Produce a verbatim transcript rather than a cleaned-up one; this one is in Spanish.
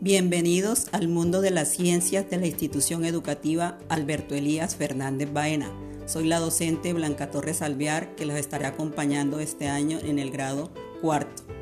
Bienvenidos al mundo de las ciencias de la institución educativa Alberto Elías Fernández Baena. Soy la docente Blanca Torres Alvear, que los estaré acompañando este año en el grado cuarto.